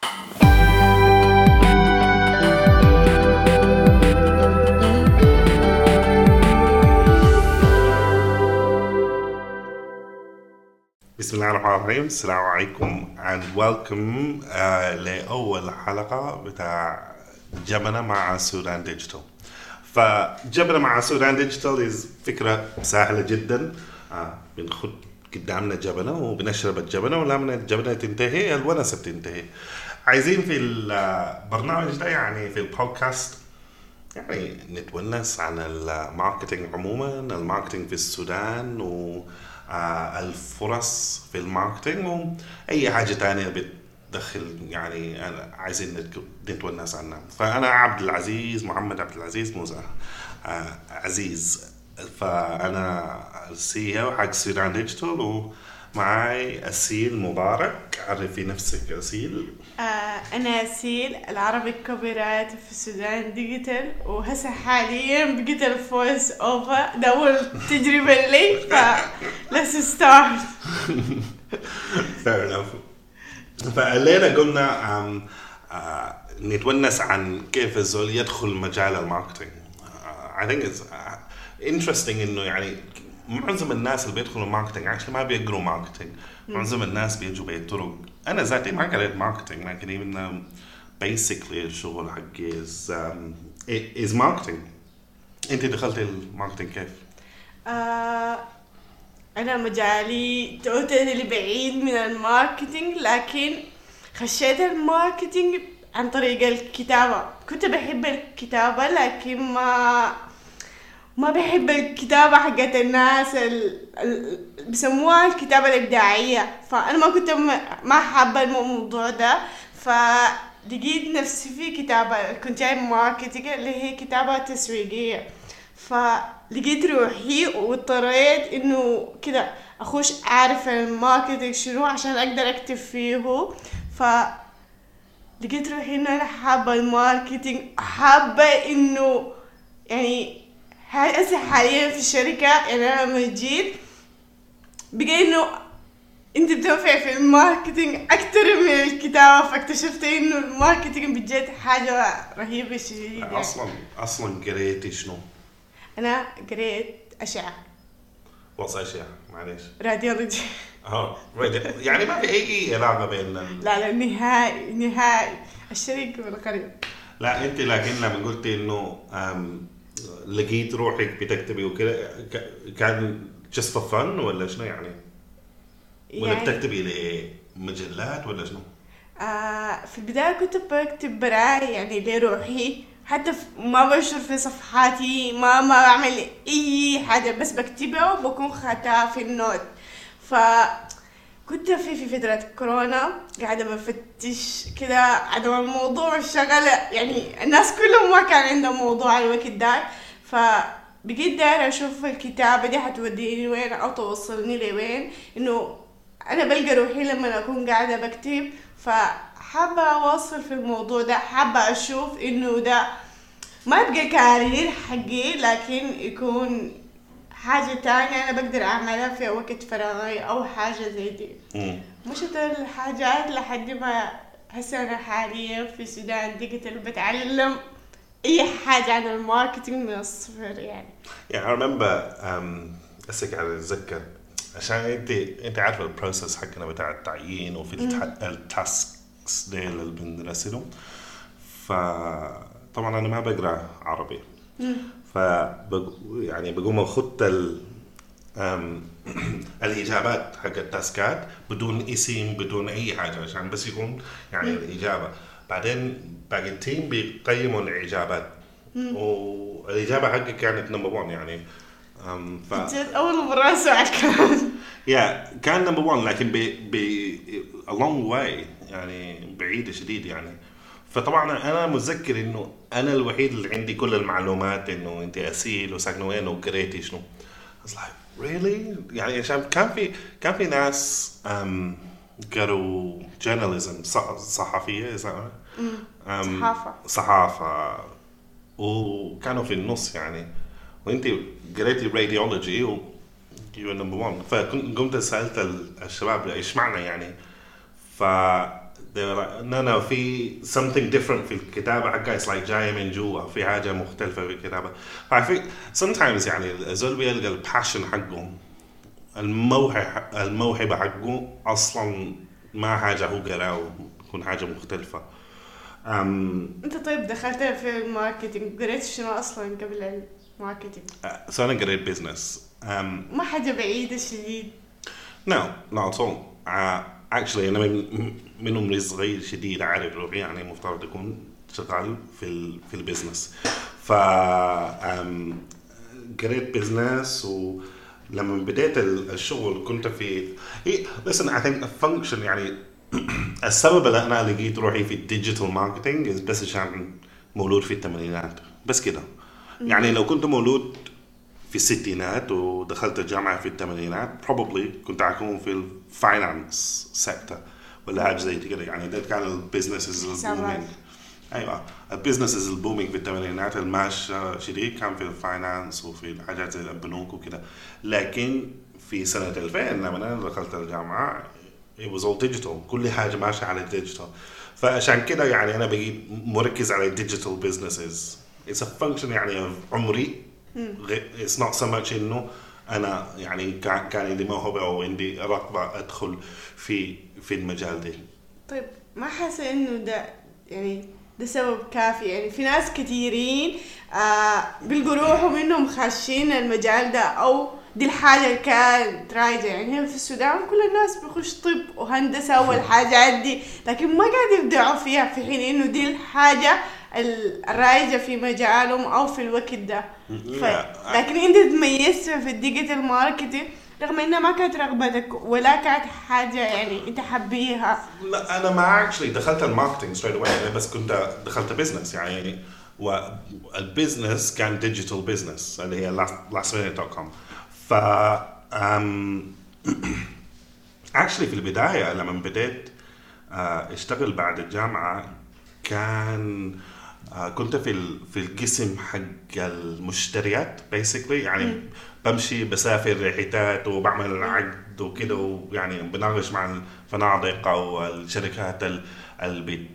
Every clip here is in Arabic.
بسم الله الرحمن الرحيم. السلام عليكم and welcome لأول حلقة بتاع جبنة مع سودان ديجيتال. فجبنة مع سودان ديجيتال فكرة سهلة جدا. بنخد قدامنا جبنة وبنشرب الجبنة، ولما الجبنة تنتهي الونسة بتنتهي. عايزين في البرنامج ده يعني في البودكاست يعني نتونس عن الماركتينج عموما، الماركتينج في السودان والفرص في الماركتينج وأي حاجة تانية بتدخل، يعني عايزين نتونس عنها. فأنا عبد العزيز محمد عبد العزيز موسى عزيز، فأنا السي او حق سودان ديجيتال، ومعاي أسيل مبارك. عرفي نفسك أسيل. أنا أسيل العربي كوبي رايت في السودان ديجيتال، وهسه حاليا بقيت الفويس أوفر. ده أول تجربة لي، let's start. Fair enough. فقلنا قلنا نتونس عن كيف الزول يدخل مجال الماركتينج. I think it's interesting إنه يعني معظم الناس اللي بيدخلوا ماركتينج عشان ما بيقروا ماركتينج. معظم الناس بيجوا بطرق. أنا ذاتي ما قريت ماركتينج، لكن even basically الشغل حقي is marketing. أنت دخلت الماركتينج كيف؟ أنا مجالي توتالي بعيد من الماركتينج، لكن خشيت الماركتينج عن طريق الكتابة. كنت بحب الكتابة، لكن ما بحب الكتابة حقت الناس بسموها الكتابة الإبداعية. فأنا ما كنت ما حابة الموضوع ده، فلقيت نفسي في كتابة كنت جاي ماركتينج اللي هي كتابة تسويقية. فلقيت روحي واضطريت إنه كده أخش أعرف الماركتينج شنو عشان أقدر أكتب فيه. لقيت روحي إنه أنا حابة الماركتينج، حابة إنه يعني هسه حاليا في الشركة. يعني أنا لما جيت بقى إنه أنت بتنفع في الماركتينج أكتر من الكتابة، فاكتشفت إنه الماركتينج بجد حاجة رهيبة شديدة. يعني أصلاً قريتي شنو؟ أنا قريت أشعة. وصل أشعة معليش. راديولوجي. يعني ما في أي علاقة بين لا نهائي الشريك والقريب. لا أنت لكن لما قلتي إنه لقيت روحك بتكتبي وكده، كان just for fun ولا شنو يعني؟ ولا بتكتبي لمجلات ولا شنو؟ في البداية كنت بكتب براي يعني لروحي، حتى ما بنشر في صفحاتي، ما بعمل أي حاجة، بس بكتبها وبكون خاتها في النوت. فكنت في فترة كورونا قاعدة بفتش كده عدم الموضوع الشغل، يعني الناس كلهم ما كان عندهم موضوع الوقت ده. فبقيت دايرة أشوف الكتابة دي حتوديني وين أو توصلني لوين، إنه أنا بلقى روحي لما أكون قاعدة بكتب. فحابة أوصل في الموضوع ده، حابة أشوف إنه ده ما يبقى كارير حقي، لكن يكون حاجة تانية أنا بقدر أعملها في وقت فراغي أو حاجة زي دي. مشت الحاجات لحد ما هسه أنا حاليا في السودان ديجيتال بتعلم أي حاجة عن الماركتينج من الصفر. يعني I remember أسك على أتذكر عشان أنت عارفة البروسيس حقنا بتاع التعيين وفي التاسكس دي اللي بنرسلهم. فطبعا أنا ما بقرأ عربي، يعني بقوم أخط الإجابات حق التاسكات بدون اسم بدون أي حاجة عشان بس يكون يعني الإجابة. بعدين باقي التيم بيقيموا الإجابات، والإجابة حقي كانت نمبر 1 يعني. أول مرة أسمع الكلام. كان نمبر 1 لكن a long way يعني بعيدة شديد يعني. فطبعا أنا متذكر إنه أنا الوحيد اللي عندي كل المعلومات إنه أنت أسيل وساكنة وين وقريتي شنو. I was like really يعني عشان كان في ناس قالوا journalism صحفية صحافة وكانوا في النص يعني، وانت قريتي radiology و you were number 1. فقمت سألت الشباب ايش معنى يعني، they were like no في something different في الكتابة حقها. it's like جاية من جوا في حاجة مختلفة في الكتابة. I think sometimes يعني الزول بيلقى الباشن حقه الموهبة حقه أصلا ما حاجة هو قرأه يكون حاجة مختلفة. انت طيب دخلت في الماركتينج قريت شنو اصلا قبل الماركتينج؟ so أنا قريت بيزنس. ما حاجة بعيدة شديد. No, not at all. Actually أنا من عمري صغير شديد أعرف روحي يعني مفترض أكون شغال في البيزنس. قريت بيزنس ولما بديت الشغل كنت في listen I think a function يعني السبب اللي أنا لقيت روحي في الديجيتال ماركتينج بس عشان مولود في الثمانينات بس كده. يعني لو كنت مولود في الستينات ودخلت الجامعة في الثمانينات probably كنت أكون في الفاينانس سيكتور ولا حاجة زي كده. يعني ده كان البيزنسز البومينج. أيوة البيزنسز البومينج في الثمانينات الماش شديد كان في الفاينانس وفي الحاجات زي البنوك وكده. لكن في سنة 2000 لما أنا دخلت الجامعة it was all digital. كل حاجة ماشية على الديجيتال. فعشان كده يعني أنا بقيت مركز على الديجيتال businesses. It's a function يعني عمري. It's not so much إنه أنا يعني كان عندي موهبة أو عندي رغبة أدخل في المجال ده. طيب ما حاسة إنه ده يعني ده سبب كافي؟ يعني في ناس كثيرين بيلقوا روحهم إنهم خاشين المجال ده أو دي الحاجة اللي كانت رايجة. يعني هنا في السودان كل الناس بيخش طب وهندسة والحاجات دي لكن ما قاعد يبدعوا فيها في حين إنه دي الحاجة الرايجة في مجالهم أو في الوقت ده. لكن أنت تميزت في الديجيتال ماركتينج رغم إنها ما كانت رغبتك ولا كانت حاجة يعني أنت حبيها. لا أنا ما actually دخلت الماركتينج straight away بس كنت دخلت بيزنس يعني والبيزنس كان ديجيتال بيزنس اللي هي lastminute.com. ف actually في البداية لما بديت اشتغل بعد الجامعة كان كنت في القسم حق المشتريات basically يعني بمشي بسافر رحلات وبعمل عقد وكده ويعني بناقش مع الفنادق أو الشركات اللي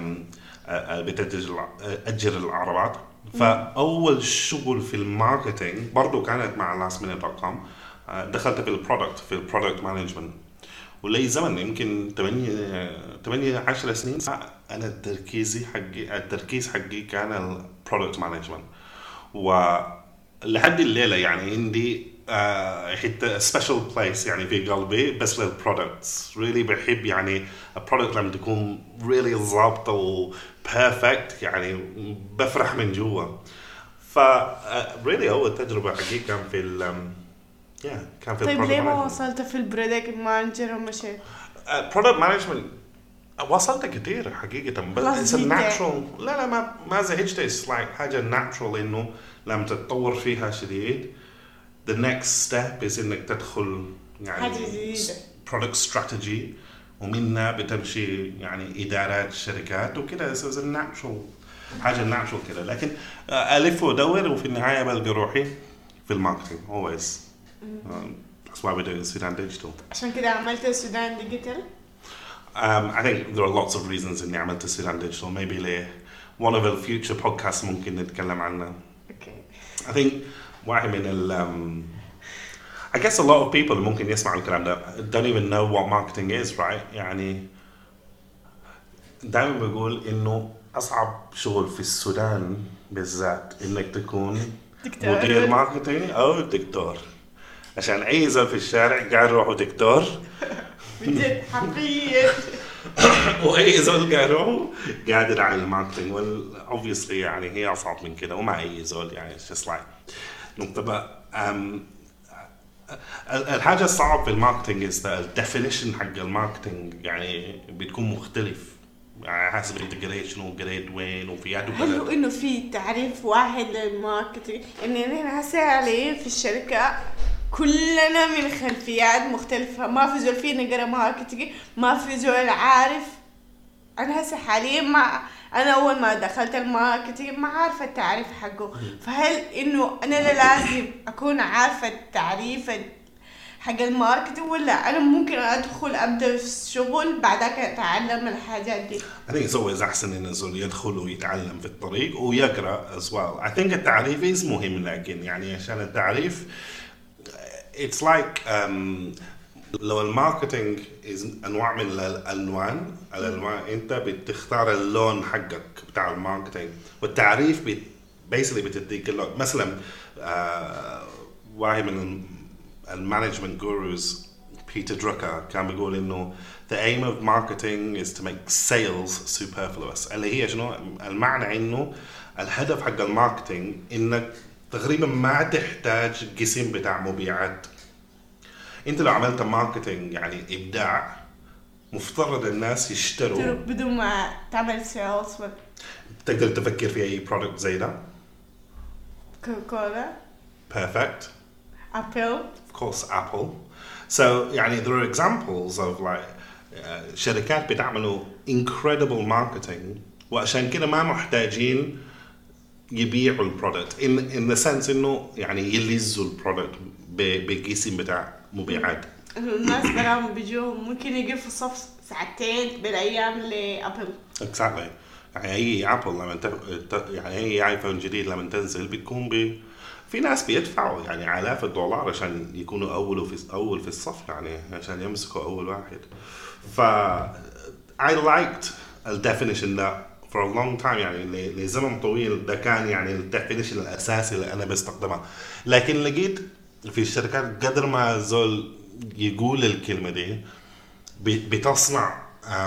بتأجر العربات. فأول شغل في الماركتينج برضو كانت مع lastminute.com. دخلت في البرودكت مانجمنت ولي زمن يمكن 8-10 سنين. أنا التركيز حقي كان البرودكت مانجمنت ولحد الليلة يعني عندي حتى special place يعني في قلبي بس للبرودكتس. really بحب يعني البرودكت لما تكون really ضابطة و perfect يعني بفرح من جوا. really أول تجربة حقي كان في كان في طيب ليه ما وصلت في البرودكت مانجر ومشيت؟ برودكت مانجمنت وصلت كتير حقيقة بس natural. لا ما زهجت. it's like حاجة natural إنه لما تتطور فيها شديد the next step is إنك تدخل يعني product strategy ومنها بتمشي يعني إدارات شركات وكده. so it's a natural حاجة natural كده. لكن ألف ودور وفي النهاية بلقى روحي في الماركتينج always. That's why we're doing Sudan Digital. عشان كده عملت Sudan Digital. I think there are lots of reasons إني عملت Sudan Digital. Maybe one of the future podcasts ممكن نتكلم عنه. Okay. I think واحد من I guess a lot of people ممكن يسمعوا الكلام ده don't even know what marketing is, right? يعني دائما بقول إنه أصعب شغل في السودان بالذات إنك تكون مدير ماركتينج أو دكتور. عشان أي زول في الشارع قاعد يروحوا دكتور بجد حقيقي وأي زول قاعد يروحوا قاعد يدعم الماركتينج. obviously يعني هي أصعب من كده وما أي زول يعني it's just like نقطة. الحاجة الصعب في الماركتينج is the definition حق الماركتينج يعني بتكون مختلف يعني حسب انت قريت شنو قريت وين وفي يد وبلد. هل هو انه في تعريف واحد للماركتينج؟ يعني احنا هسه عليه في الشركة كلنا من خلفيات مختلفة. ما في زول فينا قرا ماركتينج ما في زول عارف. انا هسه حاليا انا اول ما دخلت الماركتينج ما عارفة التعريف حقه. فهل انه انا لازم اكون عارفة التعريف حق الماركتينج، ولا انا ممكن ادخل ابدا في الشغل بعدك اتعلم الحاجات دي؟ I think it's always أحسن إن الزول يدخل ويتعلم في الطريق ويقرأ as well. I think التعريف is مهم، لكن يعني عشان التعريف it's like لو الماركتينج is أنواع من الألوان أنت بتختار اللون حقك بتاع الماركتينج، والتعريف basically بتديك اللون. مثلا واحد من المانجمنت جوروز بيتر دروكر كان بيقول إنه the aim of marketing is to make sales superfluous. اللي هي شنو المعنى؟ إنه الهدف حق الماركتينج إنك تقريبا ما تحتاج قسم بتاع مبيعات. انت لو عملت ماركتينج يعني ابداع، مفترض الناس يشتروا بدون ما تعمل سيلز. تقدر تفكر في اي برودكت زي ده؟ كوكولا. Perfect. Apple. Of course Apple. So يعني there are examples of like شركات بتعملوا incredible marketing وعشان كده ما محتاجين يبيعوا البرودكت in the sense انه يعني يلزوا البرودكت بقسم بتاع مبيعات. الناس براهم بيجوا ممكن يجي في الصف ساعتين بالايام لابل. Exactly. يعني اي ابل لما يعني اي ايفون جديد لما تنزل بتكون في ناس بيدفعوا يعني آلاف الدولار عشان يكونوا اول في الصف، يعني عشان يمسكوا اول واحد. ف I liked the definition that for a long time، يعني لزمن طويل ده كان يعني الديفينيشن الاساسي اللي انا بستخدمها. لكن لقيت في الشركات قدر ما زول يقول الكلمه دي بتصنع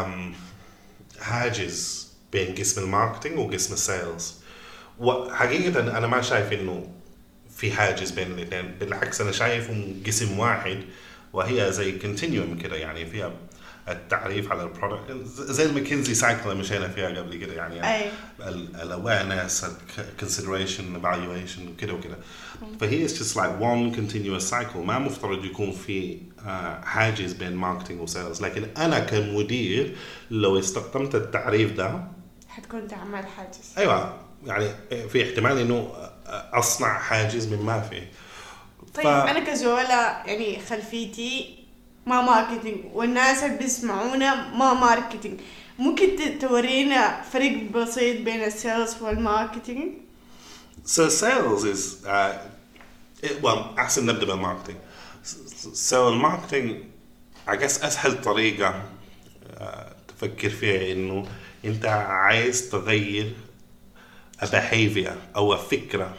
حاجز بين قسم الماركتينج وقسم السيلز. وحقيقه انا ما شايف انه في حاجز بين الاثنين، بالعكس انا شايفهم قسم واحد، وهي زي كونتينيوم كده، يعني فيها التعريف على البرودكت زي الماكنزي سايكل اللي مشينا فيها قبل كده، يعني الاويرنس، الكونسيدريشن، ايفالويشن وكده وكده. فهي just like one continuous cycle. ما مفترض يكون في حاجز بين ماركتينج وسيلز. لكن انا كمدير لو استخدمت التعريف ده حتكون تعمل حاجز. ايوه، يعني في احتمال انه اصنع حاجز من ما في. طيب انا كزولا يعني خلفيتي ما ماركتينج، والناس اللي بيسمعونا ما ماركتينج، ممكن تورينا فرق بسيط بين السيلز والماركتينج؟ So sales is well أحسن نبدأ بالماركتينج. So الماركتينج I guess أسهل طريقة تفكر فيها إنه أنت عايز تغير behavior أو فكرة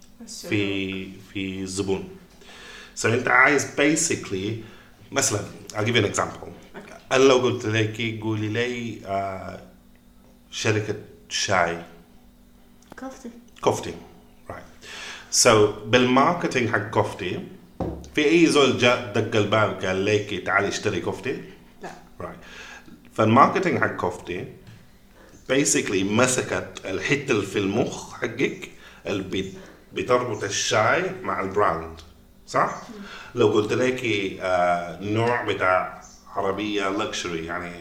في الزبون. So أنت عايز basically مثلا I'll give you an example. أنا لو قلت لك قولي لي شركة شاي كوفتي right. So بالماركتينج حق كوفتي في أي زول جاء دق الباب قال لك تعالي اشتري كوفتي؟ لا right. فالماركتينج حق كوفتي basically مسكت الحتة اللي في المخ حقك اللي بتربط الشاي مع البراند، صح؟ لو قلت لك نوع بتاع عربية لكشري يعني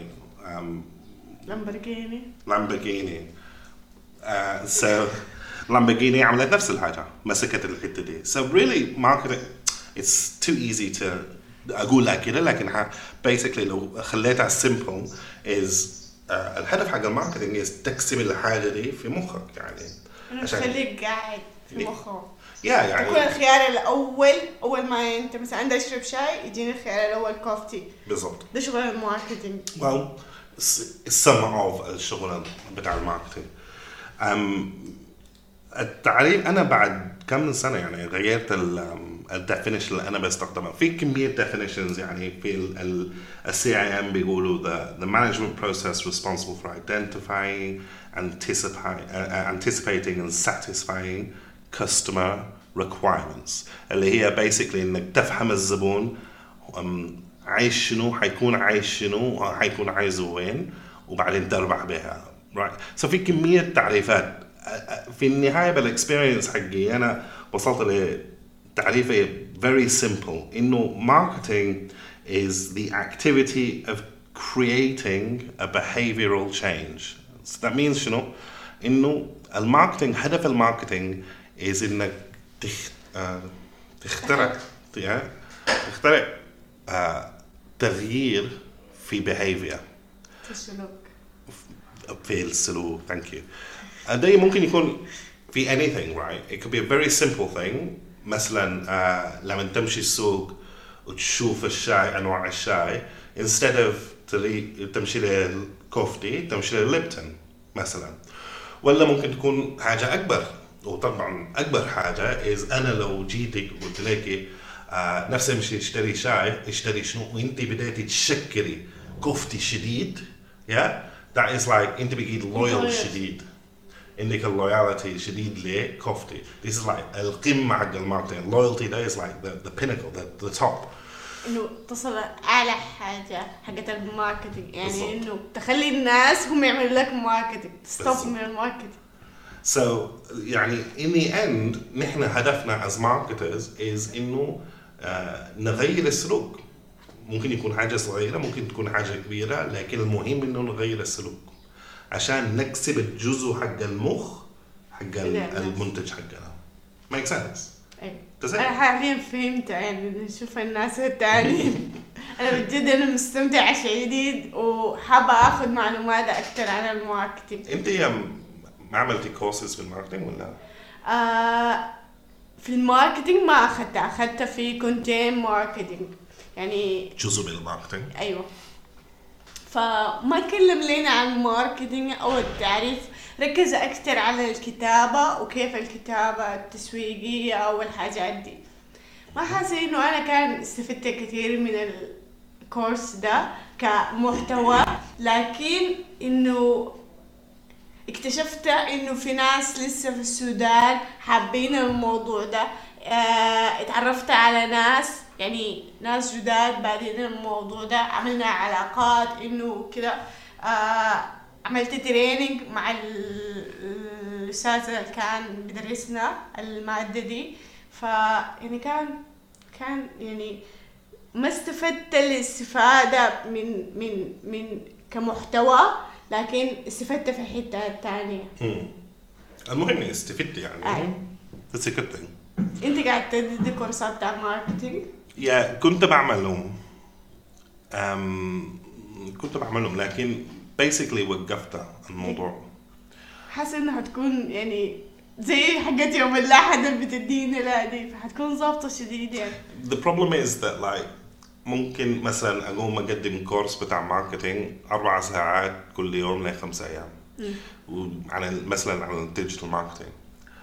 لامبورغيني so لامبورغيني عملت نفس الحاجة، مسكت الحتة دي. So really marketing it's too easy to أقول لك كده، لكن basically لو خليتها simple is الهدف حق الماركتينج is تقسم الحاجة دي في مخك، يعني عشان تخليك قاعد في مخك. يعني يكون الخيار الأول أول ما أنت مثلا عندك تشرب شاي يجيني الخيار الأول كوفتي. بالضبط. ده شغل الماركتينج. well some of الشغل بتاع الماركتينج. التعريف أنا بعد كم سنة يعني غيرت الديفينيشن اللي أنا بستخدمها. في كمية definitions يعني في CIM بيقولوا the management process responsible for identifying, anticipating and satisfying customer requirements، اللي هي basically إنك تفهم الزبون عايش شنو، حيكون عايش شنو، حيكون عايزه وين، وبعدين تربح بها right. So في كمية تعريفات. في النهاية بالاكسبيرينس حقي أنا وصلت لتعريفه very simple إنه marketing is the activity of creating a behavioral change. So that means شنو؟ إنه الماركتينج، هدف الماركتينج is إنك تخترع تغيير في behavior السلوك. في السلوك. thank you. ده ممكن يكون في anything, right? It could be a very simple thing. مثلا لما تمشي السوق وتشوف الشاي أنواع الشاي instead of تمشي للكوفتي تمشي للليبتون مثلا. ولا ممكن تكون حاجة أكبر، وطبعا أكبر حاجة is أنا لو جيتك وقلت لك نفس امشي اشتري شاي اشتري شنو، وانت بديتي تشكري كفتي شديد that is like انت بقيت loyal شديد، عندك اللويالتي شديد لكفتي. this is like القمة حق الماركتينج. loyalty ده is like the pinnacle, the top. انه تصل اعلى حاجه حقت الماركتينج، يعني بالضبط. انه تخلي الناس هم يعملوا لك ماركتينج، بالضبط. تستوب من الماركتينج. So يعني in the end نحن هدفنا as marketers is إنه نغير السلوك. ممكن يكون حاجة صغيرة ممكن تكون حاجة كبيرة، لكن المهم إنه نغير السلوك عشان نكسب الجزء حق المخ حق المنتج حقنا. make sense؟ أنا حاليا فهمت، يعني نشوف الناس التانيين. أنا بجد أنا مستمتعة شديد وحابة أخذ معلومات أكثر عن الماركتينج. أنت ما عملتي كورسز في الماركتينج ولا؟ في الماركتينج ما أخذتها في كونتين ماركتينج، يعني جزء من الماركتينج. أيوة. فما تكلم لنا عن الماركتينج أو التعريف، ركز أكثر على الكتابة وكيف الكتابة التسويقية أو الحاجات دي. ما حاسة إنه أنا كان استفدت كثير من الكورس ده كمحتوى، لكن إنه اكتشفت إنه في ناس لسه في السودان حابين الموضوع ده. اتعرفت على ناس، يعني ناس جداد بادين الموضوع ده، عملنا علاقات إنه كده. عملت تريننج مع الأستاذ اللي كان بدرسنا المادة دي، يعني كان يعني ما استفدت الاستفادة من كمحتوى، لكن استفدت في الحتة الثانية. المهم استفدت يعني. That's a good thing. انت قاعد تدي كورسات بتاع ماركتينج؟ كنت بعملهم لكن basically وقفت الموضوع. حاسة انها هتكون يعني زي حاجات يوم الأحد اللي بتدينا لا دي، فحتكون ضابطة شديد يعني. The problem is that like ممكن مثلا أقوم أقدم كورس بتاع ماركتينج 4 ساعات كل يوم ل5 أيام وعن مثلا عن الديجيتال ماركتينج،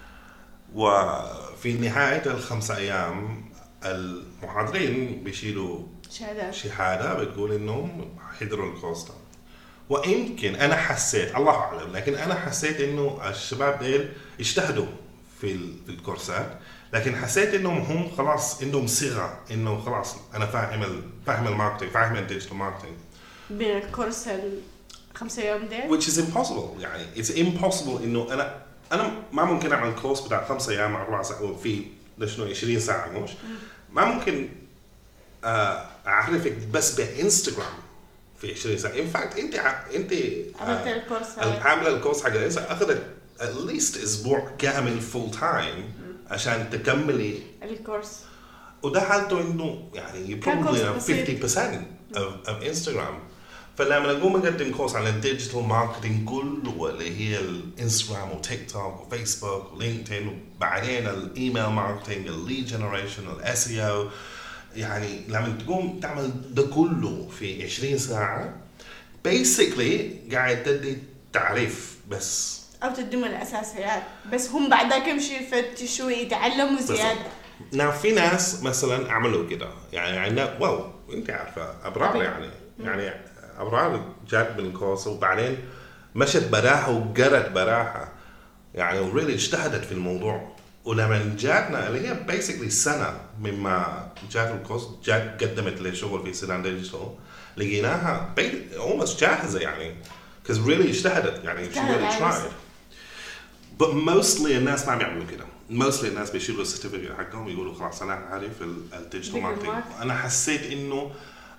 وفي نهاية ال5 أيام المحاضرين بيشيلوا شهادة بتقول إنهم حضروا الكورس ده. ويمكن أنا حسيت، الله أعلم، لكن أنا حسيت إنه الشباب ديل اجتهدوا في الكورسات، لكن حسيت إنهم هم خلاص عندهم صيغة إنه خلاص أنا فاهم الماركتينج، فاهم الديجيتال ماركتينج بالكورس ال5 أيام ديل. which is impossible. يعني it's impossible إنه أنا ما ممكن أعمل كورس بتاع 5 أيام 4 ساعات وفي لشنو 20 ساعة مش ما ممكن أعرفك بس بإنستغرام في 20 ساعة. in fact أنت عملت الكورس عاملة الكورس حق الإنستغرام أخذت at least أسبوع كامل full time عشان تكملي الكورس، وده حالته إنه يعني probably 50% of Instagram. فلما نقوم نقدم كورس عن الديجيتال ماركتينج كله اللي هي الانستغرام وتيك توك وفيسبوك ولينكدين، وبعدين الايميل ماركتينج، الليد جنريشن، الاس اي او، يعني لما تقوم تعمل ده كله في 20 ساعة basically قاعد تدي تعريف بس أو تديهم الأساسيات بس، هم بعد ذاك يمشي يفتشوا ويتعلموا زيادة. نعم في ناس مثلا عملوا كده، يعني واو انت عارفة أبرار يعني أبرار جات من الكورس وبعدين مشت براحة وقرت براحة يعني وريلي اجتهدت في الموضوع. ولما جاتنا اللي هي basically سنة مما جات الكورس جات قدمت لي شغل في سودان ديجيتال، لقيناها almost جاهزة يعني because really اجتهدت يعني she really tried. but mostly الناس ما بيعملوا كده. mostly الناس بيشيلوا السيرتيفيكت حقهم يقولوا خلاص أنا عارف الديجيتال ماركتينج. أنا حسيت إنه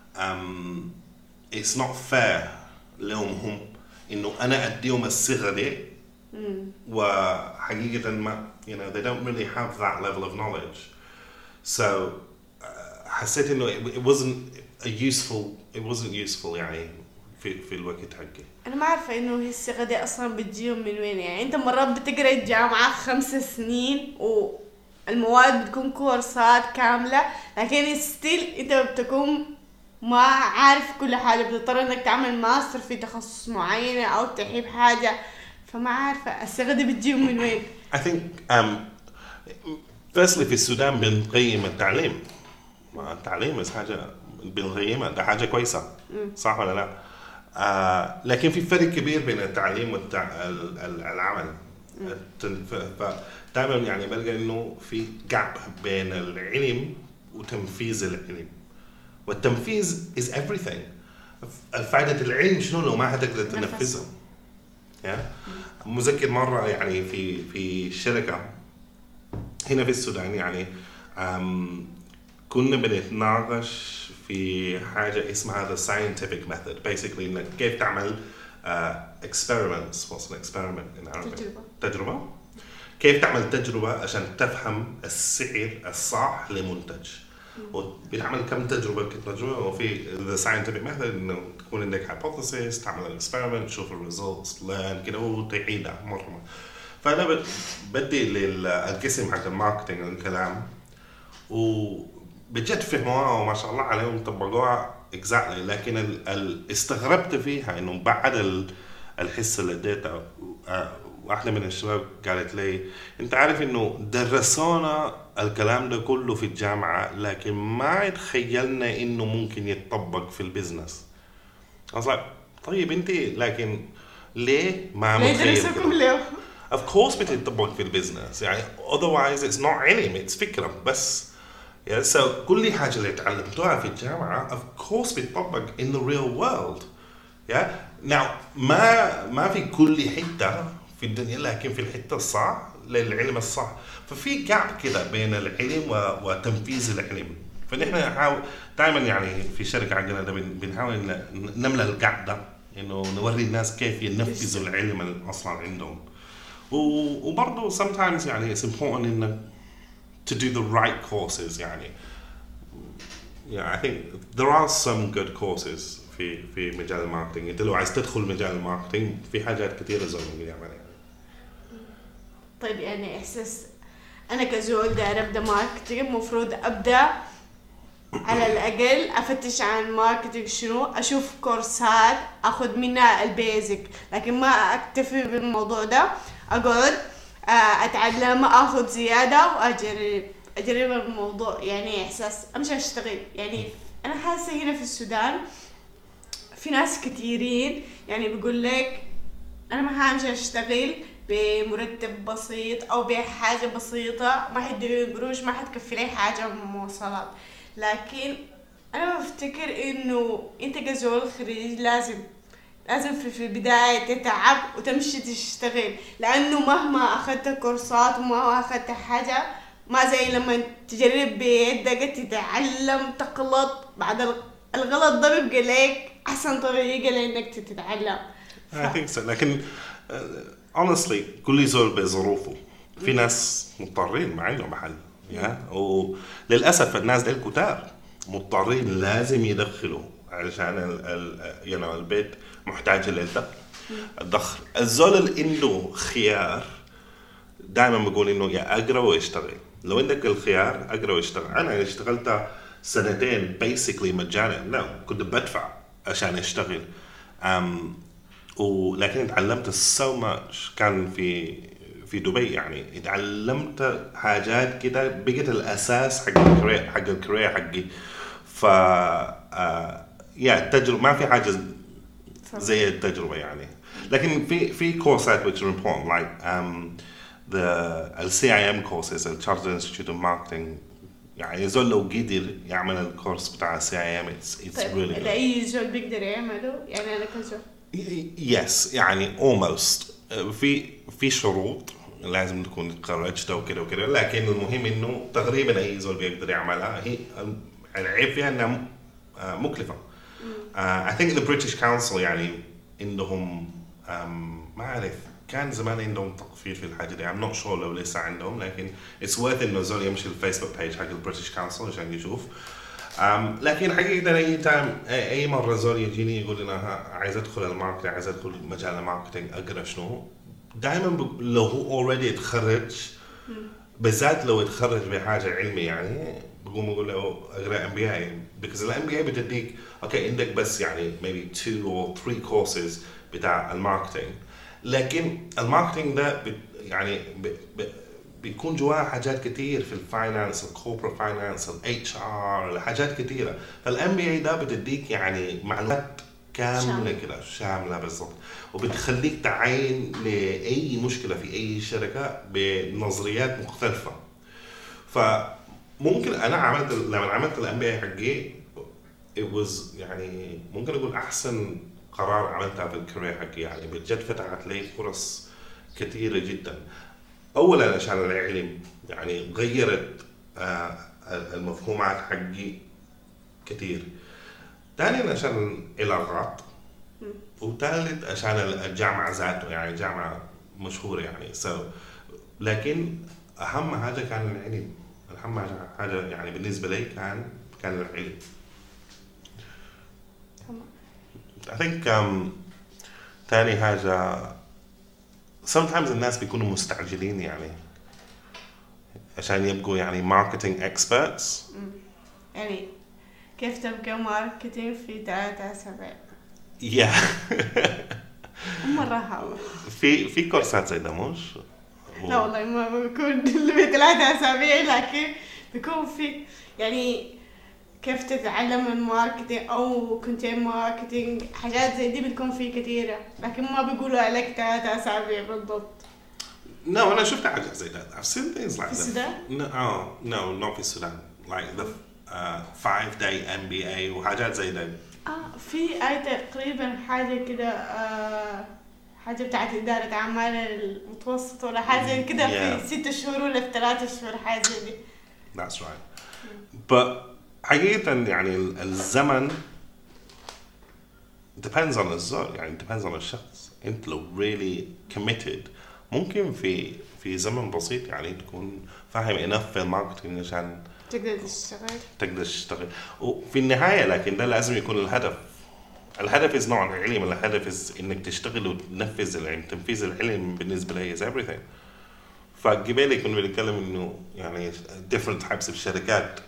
it's not fair لهم هم إنه أنا أديهم الصيغة دي وحقيقة ما they don't really have that level of knowledge. so حسيت انه it wasn't useful يعني في الوقت حقي. انا ما عارفه انه هي الثقه دي اصلا بتجيهم من وين. يعني انت مرات بتقرا الجامعه 5 سنين والمواد بتكون كورسات كامله، لكن ستيل انت بتكون ما عارف كل حاجه، بتضطر انك تعمل ماستر في تخصص معين او تحيب حاجه. فما عارفه الثقه دي بتجيهم من وين. I think firstly في السودان بنقيم التعليم. التعليم حاجه بنقيمها، ده حاجه كويسه صح ولا لا؟ لكن في فرق كبير بين التعليم والعمل. فدائما يعني بلقى انه في جاب بين العلم وتنفيذ العلم، والتنفيذ is everything. فائدة العلم شنو لو ما حتقدر تنفذه؟ مذكر مرة يعني في شركة هنا في السودان يعني كنا بنتناقش في حاجة اسمها the scientific method. basically إنك كيف تعمل experiments. what's an experiment in Arabic؟ تجربة. كيف تعمل تجربة عشان تفهم السعر الصح لمنتج. وبنعمل كم تجربة وفي the scientific method إنه تكون عندك hypothesis، تعمل experiment، تشوف results، learn كده وتعيدها مرة. فأنا بدي للقسم حق الماركتينج الكلام وبجد فهموها وما شاء الله عليهم طبقوها exactly. لكن استغربت فيها إنه بعد الحصة اللي اديتها واحدة من الشباب قالت لي انت عارف انه درسونا الكلام ده كله في الجامعة لكن ما تخيلنا انه ممكن يتطبق في البزنس. أصلا طيب انت لكن ليه ما متخيلكم ليه؟ of course بتتطبق في البزنس يعني otherwise it's not علم it's فكرة بس. so كل حاجة اللي تعلمتوها في الجامعة of course بتطبق in the real world. now ما في كل حتة في الدنيا لكن في الحتة الصح للعلم الصح. ففي جاب كده بين العلم وتنفيذ العلم. فنحن نحاول دائما يعني في الشركة عندنا ده بنحاول نملى الجاب ده إنه نوري الناس كيف ينفذوا العلم اللي أصلا عندهم. وبرضه sometimes يعني it's important إنك to do the right courses يعني. I think there are some good courses في مجال الماركتينج. انت لو عايز تدخل مجال الماركتينج في حاجات كثيره زي ما يعملها. طيب يعني احساس انا كزول داير ابدا ماركتينج المفروض ابدا على الاقل افتش عن ماركتينج شنو، اشوف كورسات اخذ منها البيزك، لكن ما اكتفي بالموضوع ده، اقعد اتعلم اخذ زياده واجرب الموضوع. يعني احساس امشي اشتغل. يعني انا حاسه هنا في السودان في ناس كثيرين يعني بيقول لك انا ما حامشي اشتغل بمرتب بسيط او بحاجه بسيطه ما حيدوني قروش ما حتكفي لي حاجه من المواصلات. لكن انا بفتكر انه انت كزول خريج لازم في البدايه تتعب وتمشي تشتغل، لانه مهما اخذت كورسات وما اخذت حاجه ما زي لما تجرب بيدك تتعلم تغلط. بعد الغلط ده بيبقى لك احسن طريقه لانك تتعلم. I think so. لكن honestly كل زول بظروفه. في ناس مضطرين ما عندهم محل وللاسف الناس دي الكتار مضطرين لازم يدخلوا علشان البيت محتاج للدخل. الزول اللي عنده خيار دائما بقول انه يا اقرا واشتغل. لو عندك الخيار اقرا واشتغل. انا اشتغلت 2 سنين basically مجانا. كنت بدفع عشان اشتغل ولكن اتعلمت so much. كان في دبي يعني اتعلمت حاجات كده بقت الاساس حق الكارير حقي. ف التجربه ما في حاجه زي التجربه يعني. لكن في كورسات which are important like the CIM courses the Chartered Institute of Marketing. يعني زول لو قدر يعمل الكورس بتاع CIM it's really good. اي زول بيقدر يعمله يعني انا كزول yes يعني almost في شروط لازم تكون تخرجتها وكده لكن المهم انه تقريبا اي زول بيقدر يعملها. هي العيب فيها انها مكلفه. I think the British Council يعني عندهم ما اعرف كان زمان عندهم تخفيض في الحاجه دي. I'm not sure لو لسه عندهم لكن it's worth انه زول يمشي الفيسبوك بيج حق البريتش كونسل عشان يشوف. لكن حقيقة أي مرة زول يجيني يقول أنا عايز أدخل الماركتينج، عايز أدخل مجال الماركتينج، أقرأ شنو؟ دائما لو هو اوريدي اتخرج، بالذات لو اتخرج بحاجة علمي يعني، بقوم أقول له أقرأ MBA because ال MBA بتديك أوكي عندك بس يعني maybe 2 or 3 courses بتاع الماركتينج، لكن الماركتينج ده يعني بيكون جواه حاجات كتير في الفاينانس، الكوربريت فاينانس، HR، حاجات كتيرة. فالام بي اي ده بتديك يعني معلومات كاملة كده شاملة بالضبط، وبتخليك تعاين لأي مشكلة في أي شركة بنظريات مختلفة. فممكن أنا لما عملت الام بي اي حقي it was يعني ممكن أقول أحسن قرار عملتها في الكارير حقي، يعني بجد فتحت لي فرص كثيرة جدا. أولا عشان العلم يعني غيرت المفهومات حقي كثير، ثانيا عشان العلاقات، وثالث عشان الجامعة ذاته يعني جامعة مشهورة يعني لكن أهم حاجة كان العلم، أهم حاجة يعني بالنسبة لي كان العلم. I think ثاني حاجة sometimes الناس بيكونوا مستعجلين يعني عشان يبقوا يعني marketing experts. يعني كيف تبقى ماركتينج في 3 أسابيع؟ مرة حلوة. في كورسات زي ده مش؟ لا والله ما بيكون في 3 أسابيع، لكن بيكون في يعني كيف تتعلم الماركتينج أو كونتين ماركتينج، حاجات زي دي بتكون في كثيرة، لكن ما بيقولوا عليك 3 أسابيع بالضبط. No, أنا شفت حاجات زي ده. I've seen things like that. في السودان؟ No, not في السودان. Like the 5-day MBA وحاجات زي ده. في تقريبا حاجة كده حاجة بتاعت إدارة أعمال المتوسط ولا حاجة زي كده في 6 شهور ولا في 3 شهور حاجة زي دي. That's right. But حقيقة يعني الزمن depends on الزول، يعني depends on الشخص. أنت لو really committed ممكن في زمن بسيط يعني تكون فاهم enough في الماركتينج عشان تقدر تشتغل. وفي النهاية لكن ده لازم يكون الهدف is not العلم، الهدف is إنك تشتغل وتنفذ العلم. تنفيذ العلم بالنسبة لي is everything. فقبل كنا بنتكلم إنه يعني different types of شركات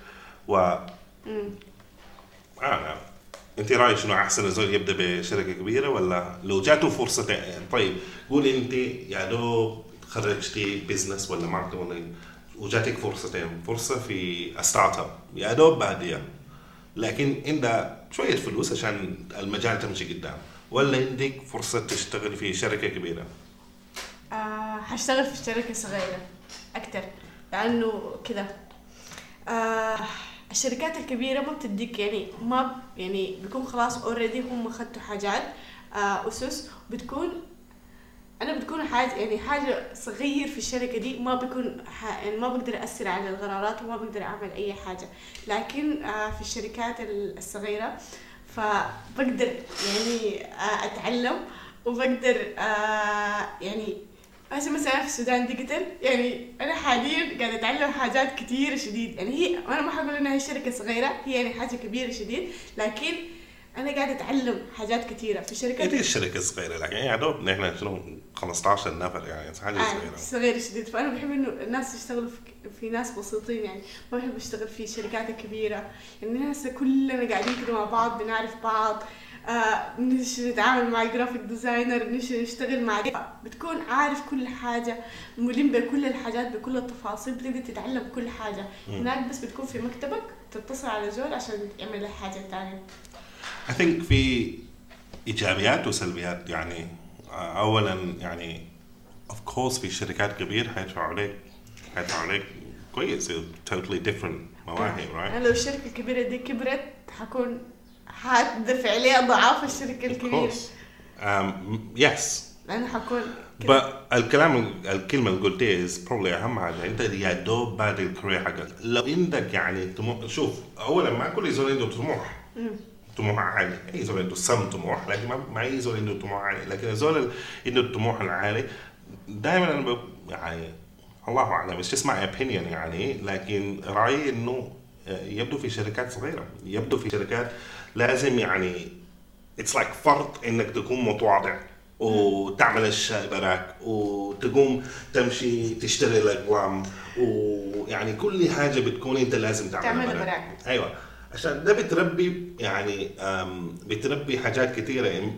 انت رايك شنو احسن الزول يبدا بشركه كبيره ولا لو جاته فرصه؟ طيب قول انت يا دوب خرجتي بزنس ولا ماركتنج ولا وجاتك فرصتين، فرصه في ستارت اب يا دوب باديه لكن عندها شويه فلوس عشان المجال تمشي قدام، ولا عندك فرصه تشتغل في شركه كبيره؟ هشتغل في شركه صغيره اكتر، لانه كده الشركات الكبيرة ما بتديك يعني بيكون خلاص already هم خدوا حاجات أسس، بتكون حاجة صغير في الشركة دي، ما بيكون يعني ما بقدر أثر على القرارات وما بقدر أعمل أي حاجة. لكن في الشركات الصغيرة فبقدر يعني أتعلم وبقدر يعني مثلا في السودان ديجيتال، يعني أنا حاليا قاعدة أتعلم حاجات كتير شديد. يعني أنا ما حقول إنها شركة صغيرة، هي يعني حاجة كبيرة شديد، لكن أنا قاعدة أتعلم حاجات كتيرة في شركة. هي الشركة صغيرة لكن يعني دوب نحن شنو 15 نفر يعني حاجة صغيرة شديد. فأنا بحب إنه الناس يشتغلوا في ناس بسيطين، يعني ما بحب أشتغل في شركات الكبيرة. يعني الناس كلنا قاعدين كده مع بعض، بنعرف بعض، نتعامل مع الجرافيك ديزاينر، نشتغل مع بتكون عارف كل حاجة، ملم بكل الحاجات بكل التفاصيل، بتقدر تتعلم كل حاجة. هناك بس بتكون في مكتبك تتصل على زول عشان يعمل لك حاجة تانية. I think في إيجابيات وسلبيات. يعني أولا يعني of course في شركات كبيرة هيدفعوا عليك كويس totally different مواهب right. لو الشركة الكبيرة دي كبرت هتدفع لي أضعاف الشركة الكبيرة. yes. لأنه حكون الكلمة اللي قلتها is probably أهم حاجة. أنت يا دوب بعد الكارير حقك لو عندك يعني شوف أولا ما كل زول عنده طموح عالي، أي زول عنده طموح لكن ما أي زول عنده طموح عالي. لكن الزول عنده الطموح العالي دائما أنا يعني الله أعلم it's just my opinion يعني، لكن رأيي إنه يبدو في شركات صغيرة، يبدو في شركات لازم يعني it's like فرض انك تكون متواضع وتعمل الشاي براك وتقوم تمشي تشتري الاقلام، ويعني كل حاجة بتكون انت لازم تعملها براك. ايوه، عشان ده بتربي يعني بتربي حاجات كثيرة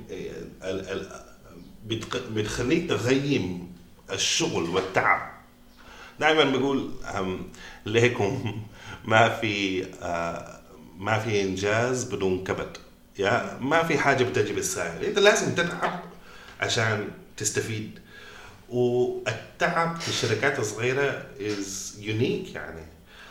بتخليك تغيم الشغل والتعب. دائما بقول ليكم ما في انجاز بدون كبد، يا ما في حاجه بتجي بالسهل، انت لازم تتعب عشان تستفيد. والتعب في الشركات الصغيره is unique يعني.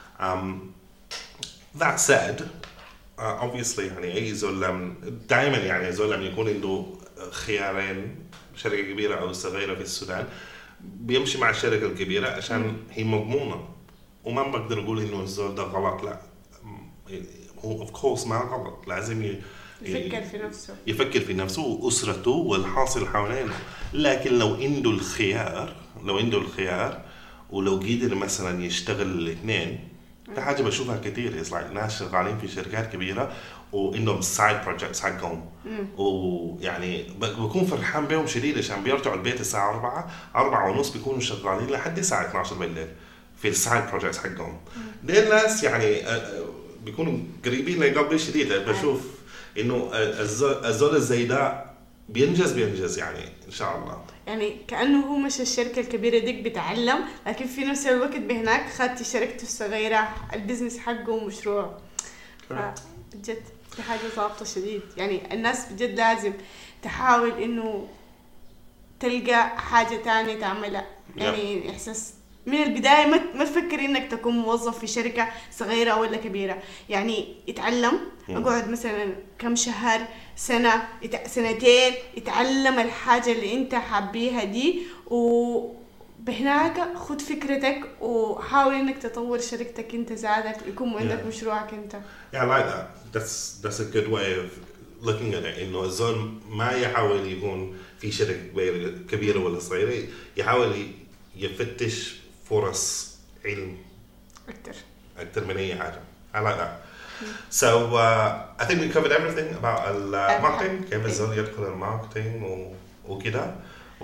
that said obviously يعني اي زول دائما يعني زول لما يكون عنده خيارين، شركه كبيره او صغيره في السودان، بيمشي مع الشركة الكبيرة عشان هي مضمونة، وما بقدر أقول إنه الزول ده غلط، لا هو of course ما غلط، لازم يفكر في نفسه وأسرته والحاصل حوالينه. لكن لو عنده الخيار ولو قدر مثلا يشتغل الاثنين، ده حاجة بشوفها كتير. like ناس شغالين في شركات كبيرة وعندهم side projects حقهم، ويعني بكون فرحان بهم شديد عشان بيرجعوا البيت الساعة 4:30 بيكونوا شغالين لحد الساعة 12 بالليل في السايد بروجكتس حقهم. دي الناس يعني بيكونوا قريبين لقلبي شديد. بشوف إنه الزول زي ده بينجز يعني إن شاء الله. يعني كأنه هو مش الشركة الكبيرة ديك بيتعلم، لكن في نفس الوقت بهناك خدت شركته الصغيرة البزنس حقه ومشروع. بجد في حاجة ضابطة شديد. يعني الناس بجد لازم تحاول إنه تلقى حاجة تانية تعملها. يعني إحساس من البداية ما تفكر إنك تكون موظف في شركة صغيرة ولا كبيرة. يعني اتعلم، اقعد مثلا كم شهر، سنة، سنتين، اتعلم الحاجة اللي انت حابيها دي، وبهناك خد فكرتك وحاول انك تطور شركتك انت زادك، يكون عندك مشروعك انت. Yeah, I like that. That's a good way of looking at it. إنه الزول ما يحاول يكون في شركة كبيرة ولا صغيرة، يحاول يفتش فرص علم أكتر من أي حاجة. I like that. So I think we covered everything about الماركتينج، كيف الزول يدخل الماركتينج وكده،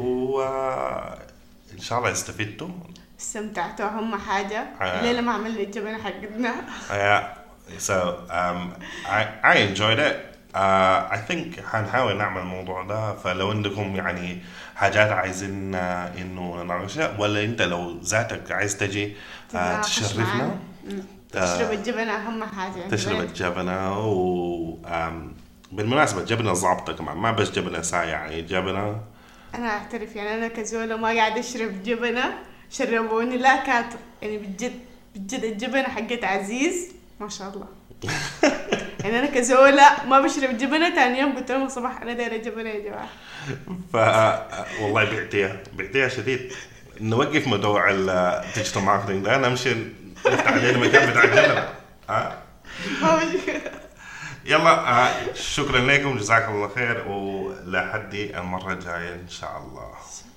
وإن شاء الله استفدتوا. استمتعتوا أهم حاجة. ليلة ما عملنا الجبنة حقتنا. So I enjoyed it. I think حنحاول نعمل الموضوع ده. فلو عندكم يعني حاجات عايزين إنه نناقشها، ولا أنت لو ذاتك عايز تجي تشرفنا، تشرب الجبنة أهم حاجة. تشرب الجبنة. بالمناسبة الجبنة ضابطة كمان، ما بس جبنة سايعة، يعني جبنة. أنا أعترف يعني أنا كزولة ما قاعد أشرب جبنة شربوني، لا كاتب يعني بجد الجبنة حقت عزيز ما شاء الله. يعني أنا كزولة ما بشرب جبنة، تاني يوم قلت لهم صباح أنا دايرة جبنة يا جماعة. والله بعتيها شديد. نوقف موضوع الديجيتال ماركتينج ده، نمشي نفتح علينا مكان بتاع الجبنة. يلا شكرا لكم، جزاكم الله خير، ولحد المرة الجاية إن شاء الله.